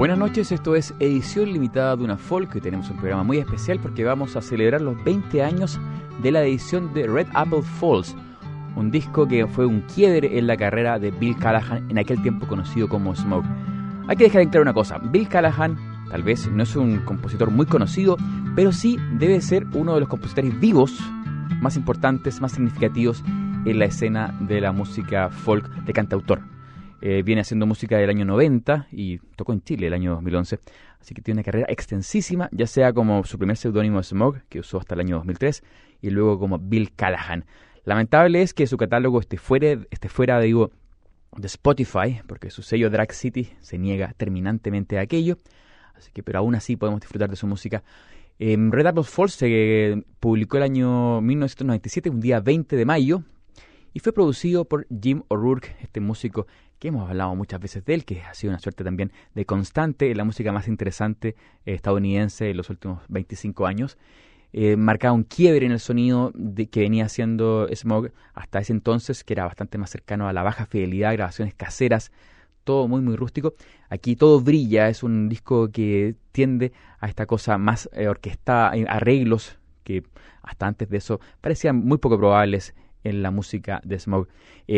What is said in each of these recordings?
Buenas noches, esto es edición limitada de Duna Folk. Hoy tenemos un programa muy especial porque vamos a celebrar los 20 años de la edición de Red Apple Falls, un disco que fue un quiebre en la carrera de Bill Callahan, en aquel tiempo conocido como Smoke. Hay que dejar en claro una cosa: Bill Callahan tal vez no es un compositor muy conocido, pero sí debe ser uno de los compositores vivos más importantes, más significativos en la escena de la música folk de cantautor. Viene haciendo música del año 90 y tocó en Chile el año 2011, así que tiene una carrera extensísima, ya sea como su primer seudónimo Smoke, que usó hasta el año 2003, y luego como Bill Callahan. Lamentable es que su catálogo esté fuera de Spotify, porque su sello Drag City se niega terminantemente a aquello, así que pero aún así podemos disfrutar de su música. Red Apple Falls se publicó el año 1997, un día 20 de mayo, y fue producido por Jim O'Rourke, este músico que hemos hablado muchas veces de él, que ha sido una suerte también de constante en la música más interesante estadounidense en los últimos 25 años. Marcaba un quiebre en el sonido que venía haciendo Smoke hasta ese entonces, que era bastante más cercano a la baja fidelidad, grabaciones caseras, todo muy muy rústico. Aquí todo brilla, es un disco que tiende a esta cosa más orquestada, arreglos que hasta antes de eso parecían muy poco probables en la música de Smoke.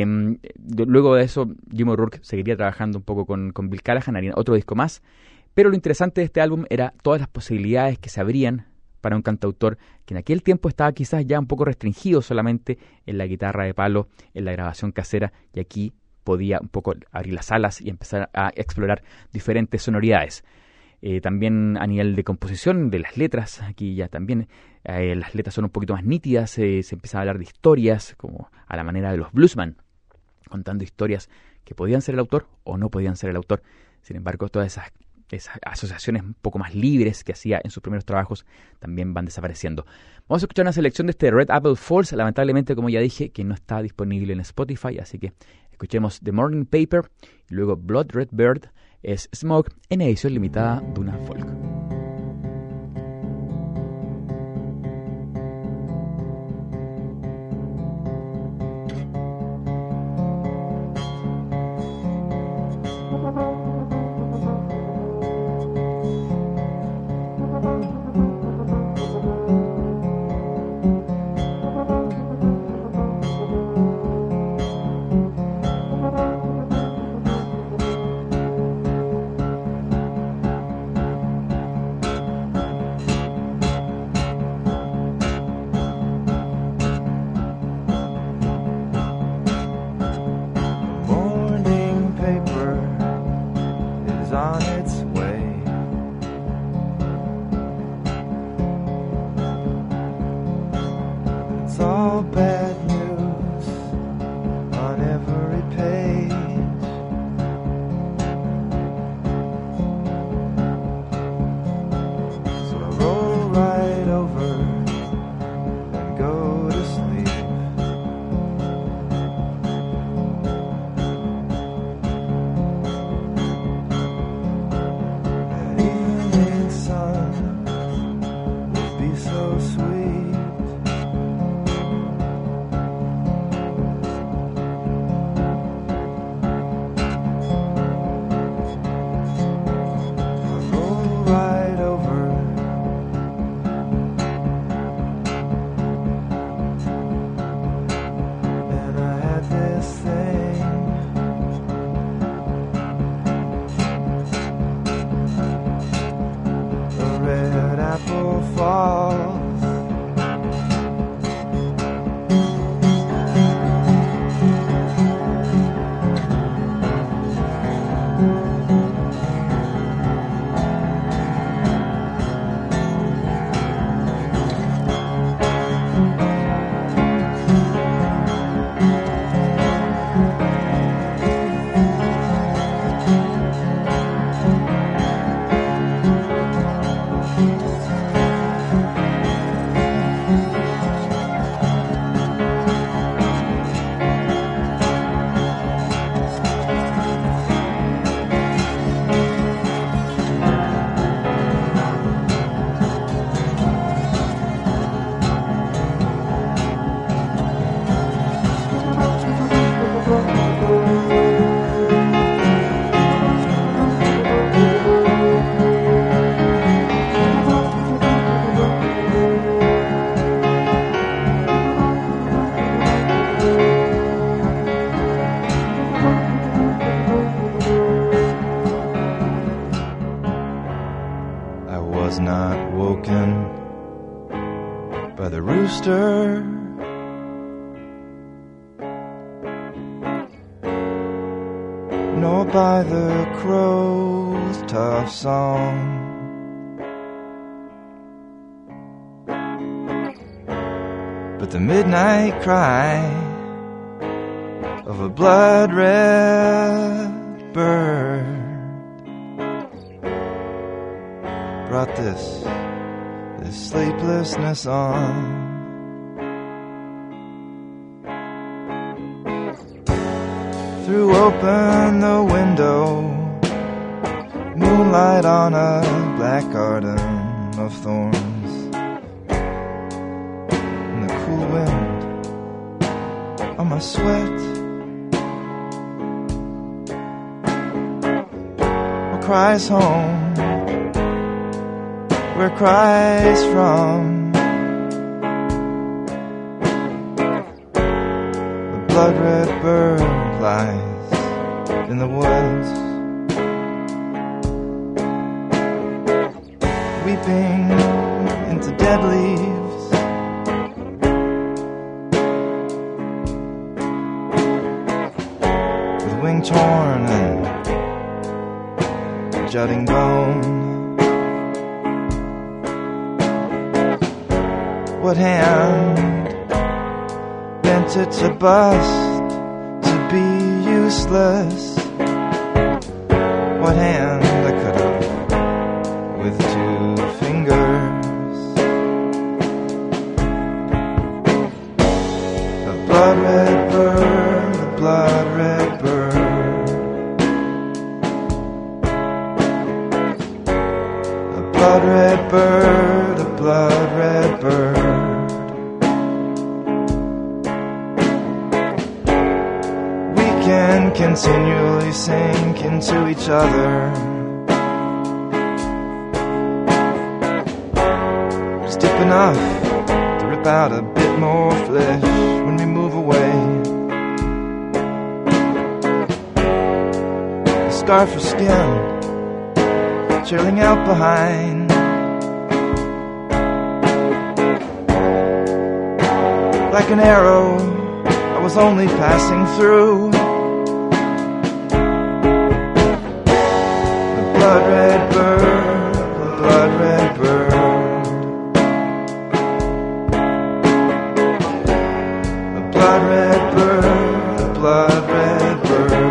Luego de eso, Jim O'Rourke seguiría trabajando un poco con Bill Callahan, haría otro disco más, pero lo interesante de este álbum era todas las posibilidades que se abrían para un cantautor que en aquel tiempo estaba quizás ya un poco restringido solamente en la guitarra de palo, en la grabación casera, y aquí podía un poco abrir las alas y empezar a explorar diferentes sonoridades. También a nivel de composición de las letras, aquí ya también las letras son un poquito más nítidas, se empieza a hablar de historias como a la manera de los bluesman, contando historias que podían ser el autor o no podían ser el autor. Sin embargo, todas esas asociaciones un poco más libres que hacía en sus primeros trabajos también van desapareciendo. Vamos a escuchar una selección de este Red Apple Falls, lamentablemente, como ya dije, que no está disponible en Spotify, así que escuchemos The Morning Paper y luego Blood Red Bird. Es Smoke en edición limitada de Duna Folk. stir. Nor by the crow's tough song. But the midnight cry of a blood-red bird brought this sleeplessness on. Threw open the window, moonlight on a black garden of thorns, and the cool wind on my sweat. Or cries home, where cries from the blood-red bird lies in the woods, weeping into dead leaves. With wing torn and jutting bone. What hand bent it to bust, to be useless? What hand I could have with 2 fingers? A blood-red bird, a blood-red bird, a blood-red bird, a blood-red bird. Can continually sink into each other, just deep enough to rip out a bit more flesh when we move away. A scarf of skin trailing out behind, like an arrow I was only passing through. Blood-red bird, a blood-red bird, a blood-red bird, a blood-red bird.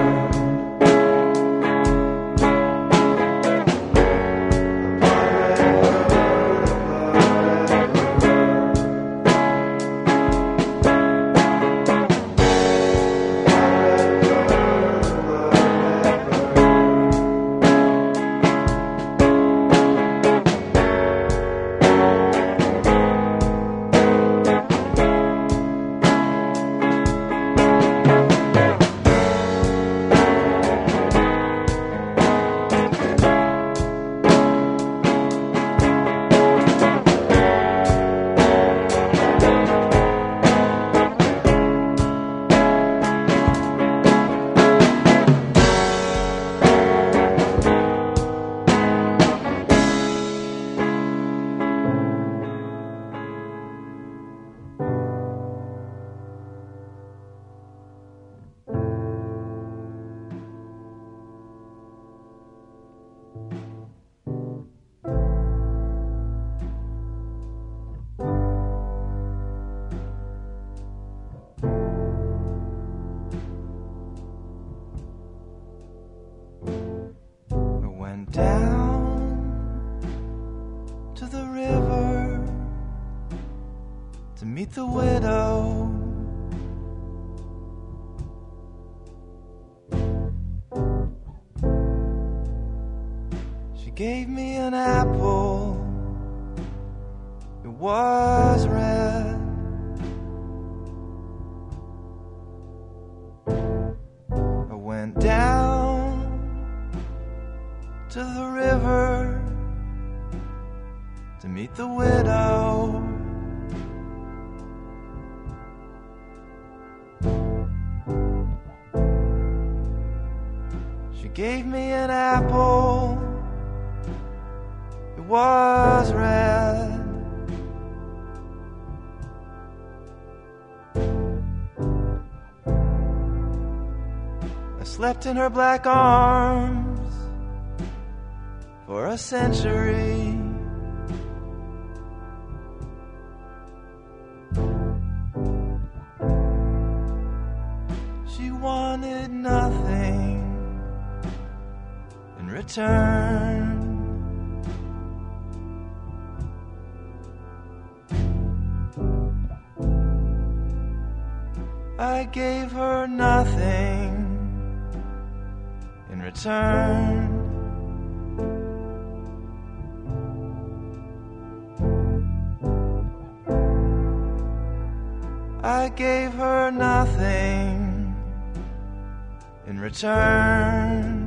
Meet the widow. She gave me an apple. It was red. I went down to the river to meet the widow. She gave me an apple. It was red. slept in her black arms for a century. She wanted nothing in return. I gave her nothing in return. I gave her nothing in return.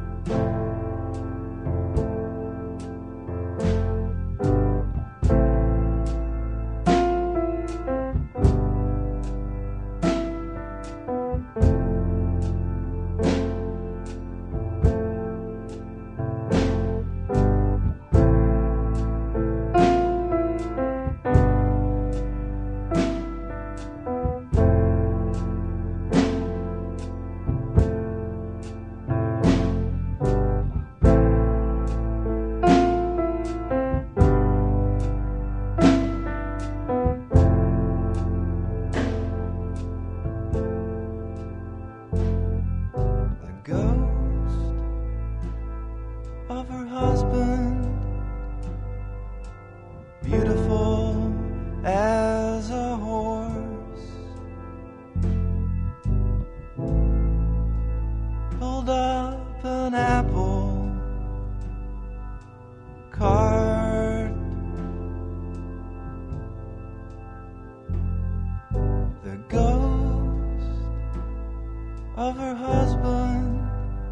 Of her husband,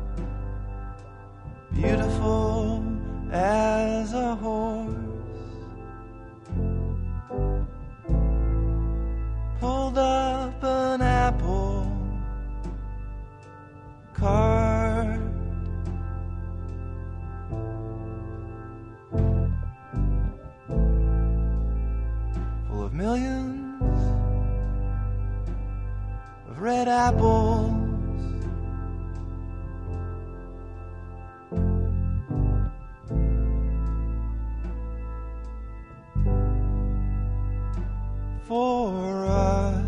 beautiful as a horse, pulled up an apple cart. Full of millions of red apples. For us,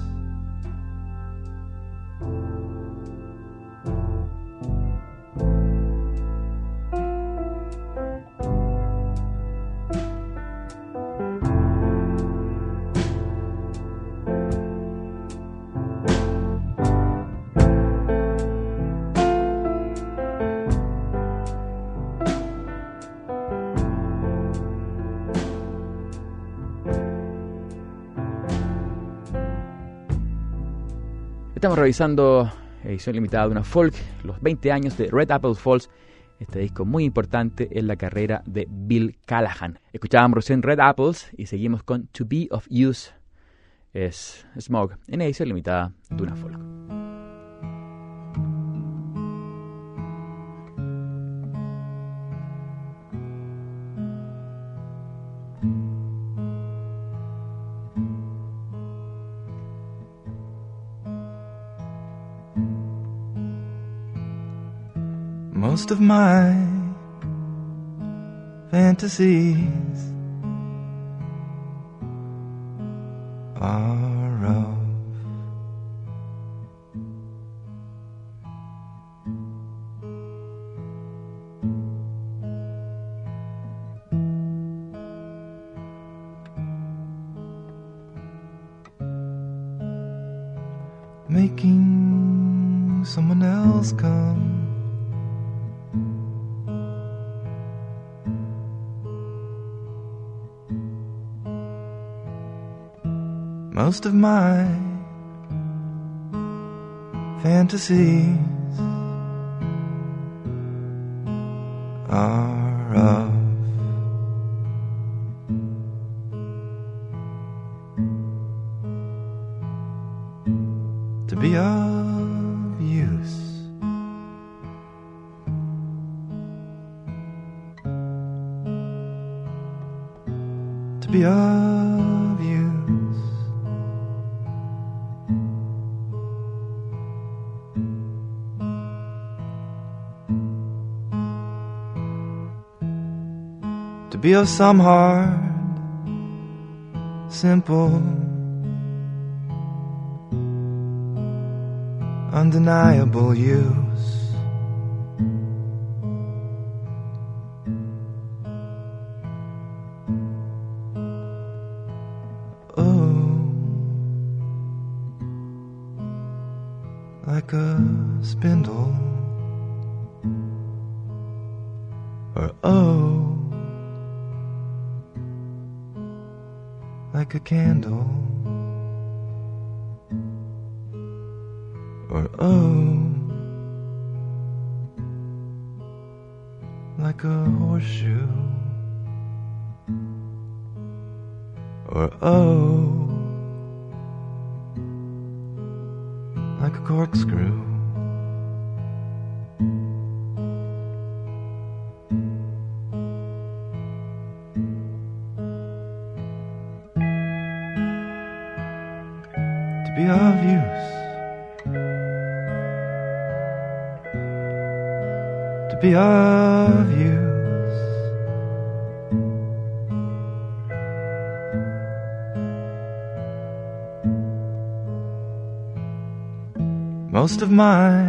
Estamos revisando edición limitada de una folk, los 20 años de Red Apple Falls, este disco muy importante en la carrera de Bill Callahan. Escuchábamos recién Red Apples y seguimos con To Be of Use, es Smog, en edición limitada de una folk. Most of my fantasies are of making someone else come. Most of my fantasies are of to be of use. To be of use. to be of some hard, simple, undeniable use. Oh, like a spindle, or oh, like a candle, or oh, like a horseshoe, or oh, like a corkscrew. To be of use, to be of use. Most of my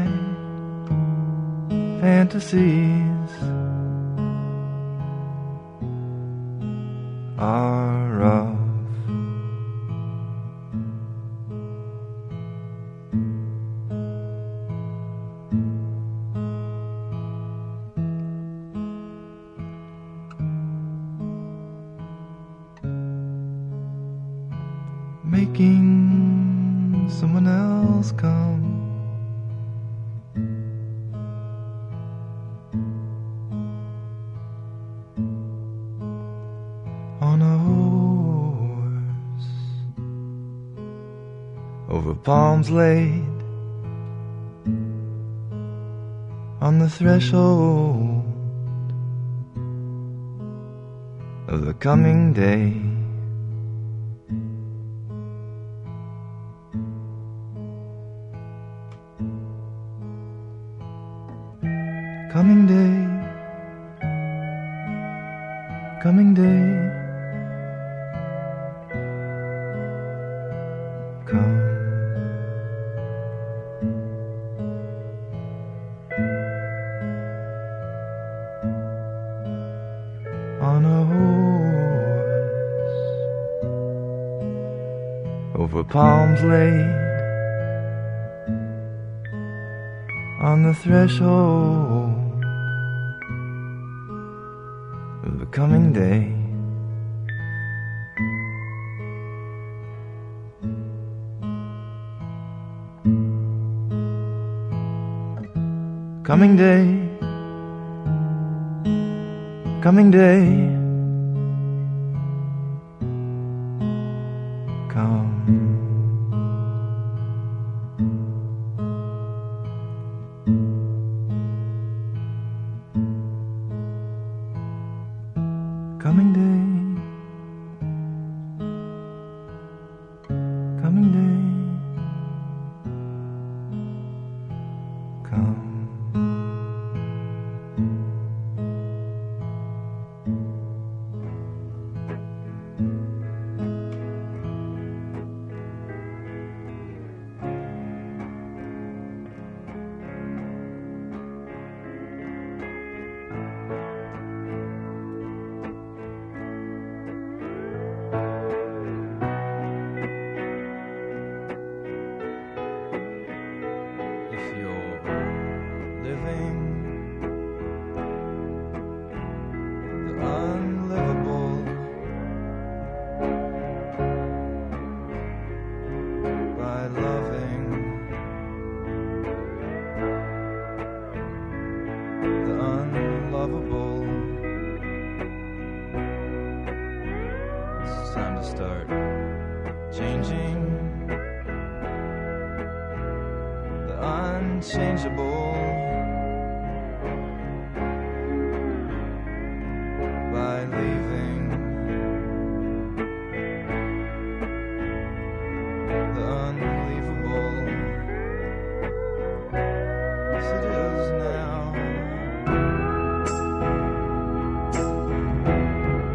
fantasies are of making someone else come, on a horse, over palms laid, on the threshold of the coming day. Coming day, coming day, come. On a horse, over palms laid, on the threshold of the coming day. Coming day, coming day, come. Coming day, coming day, come. Start changing the unchangeable by leaving the unbelievable as it is now.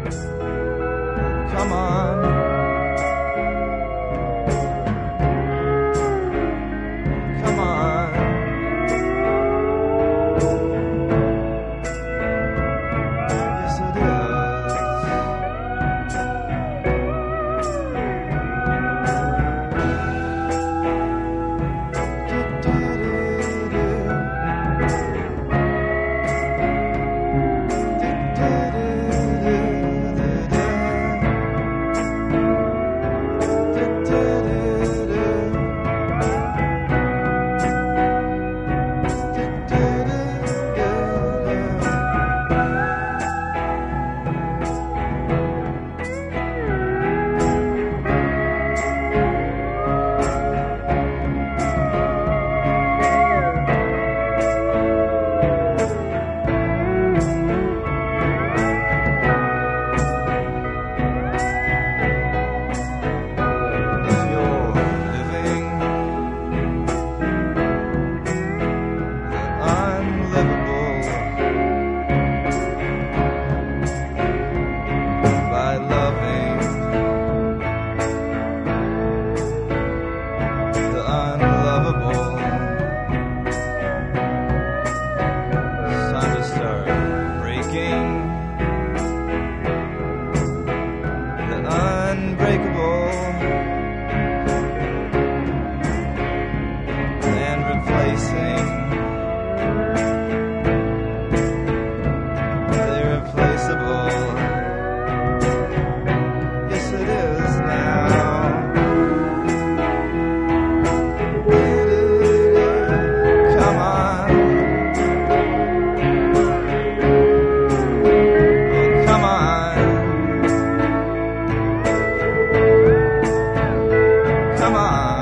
replacing the irreplaceable. Yes, it is now. Come on. Come on. Come on.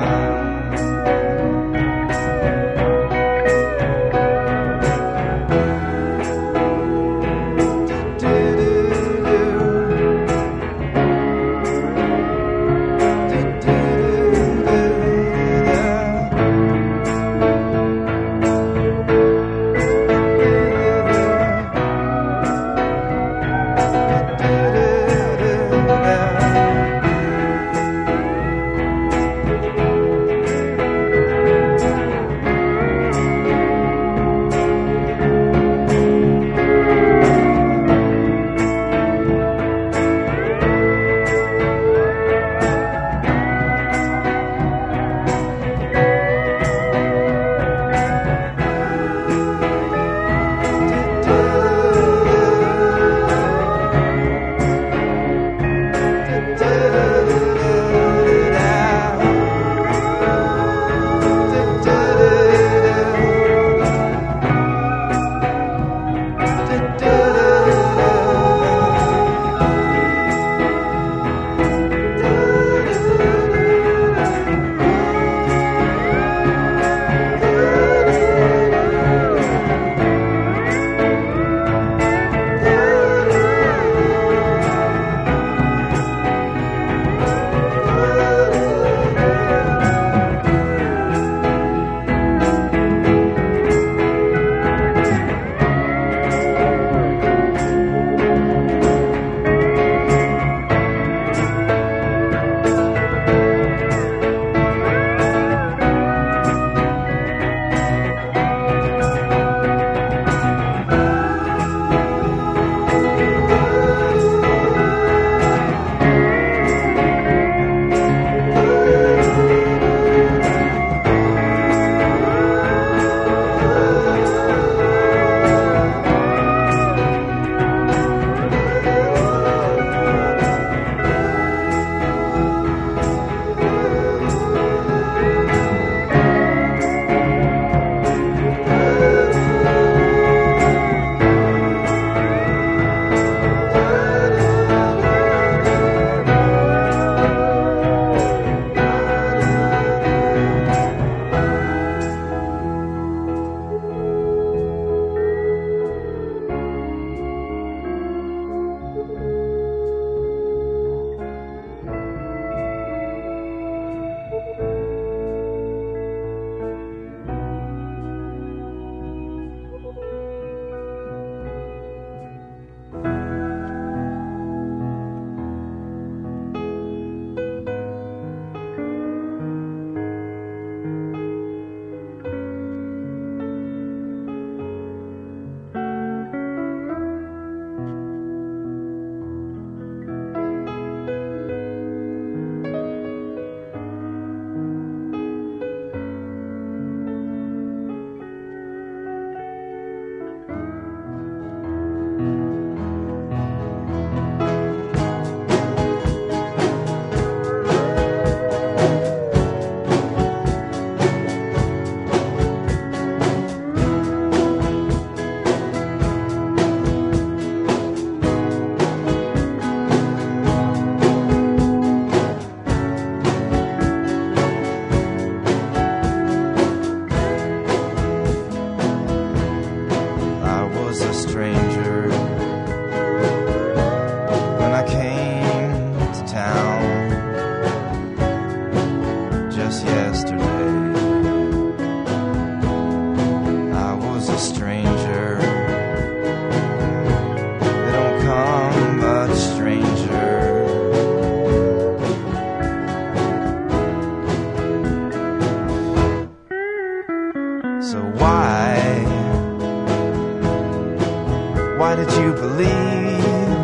Why did you believe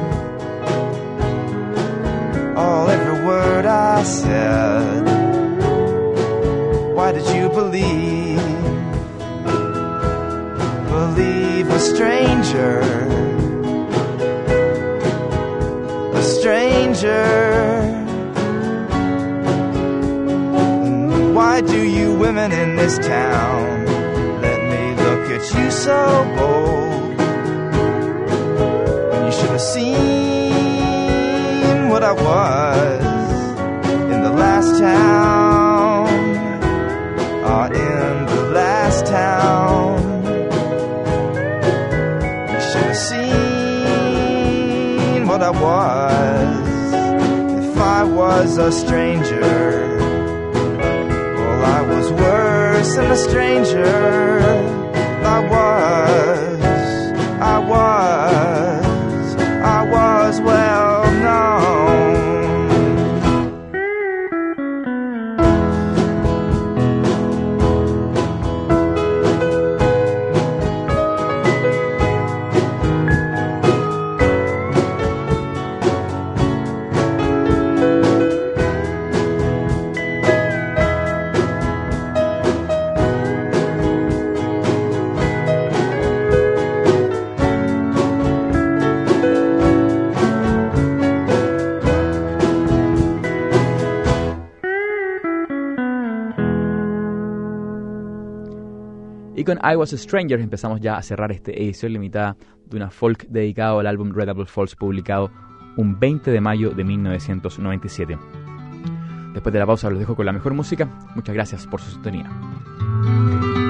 every word I said? Why did you believe stranger. A stranger. Why do you women in this town let me look at you so bold? When you should have seen what I was in the last town. In the last town. You should have seen what I was if I was a stranger. I was worse than a stranger. I was well known. Con I Was a Stranger empezamos ya a cerrar esta edición limitada de una folk dedicado al álbum Red Apple Falls, publicado un 20 de mayo de 1997. Después de la pausa los dejo con la mejor música. Muchas gracias por su sintonía.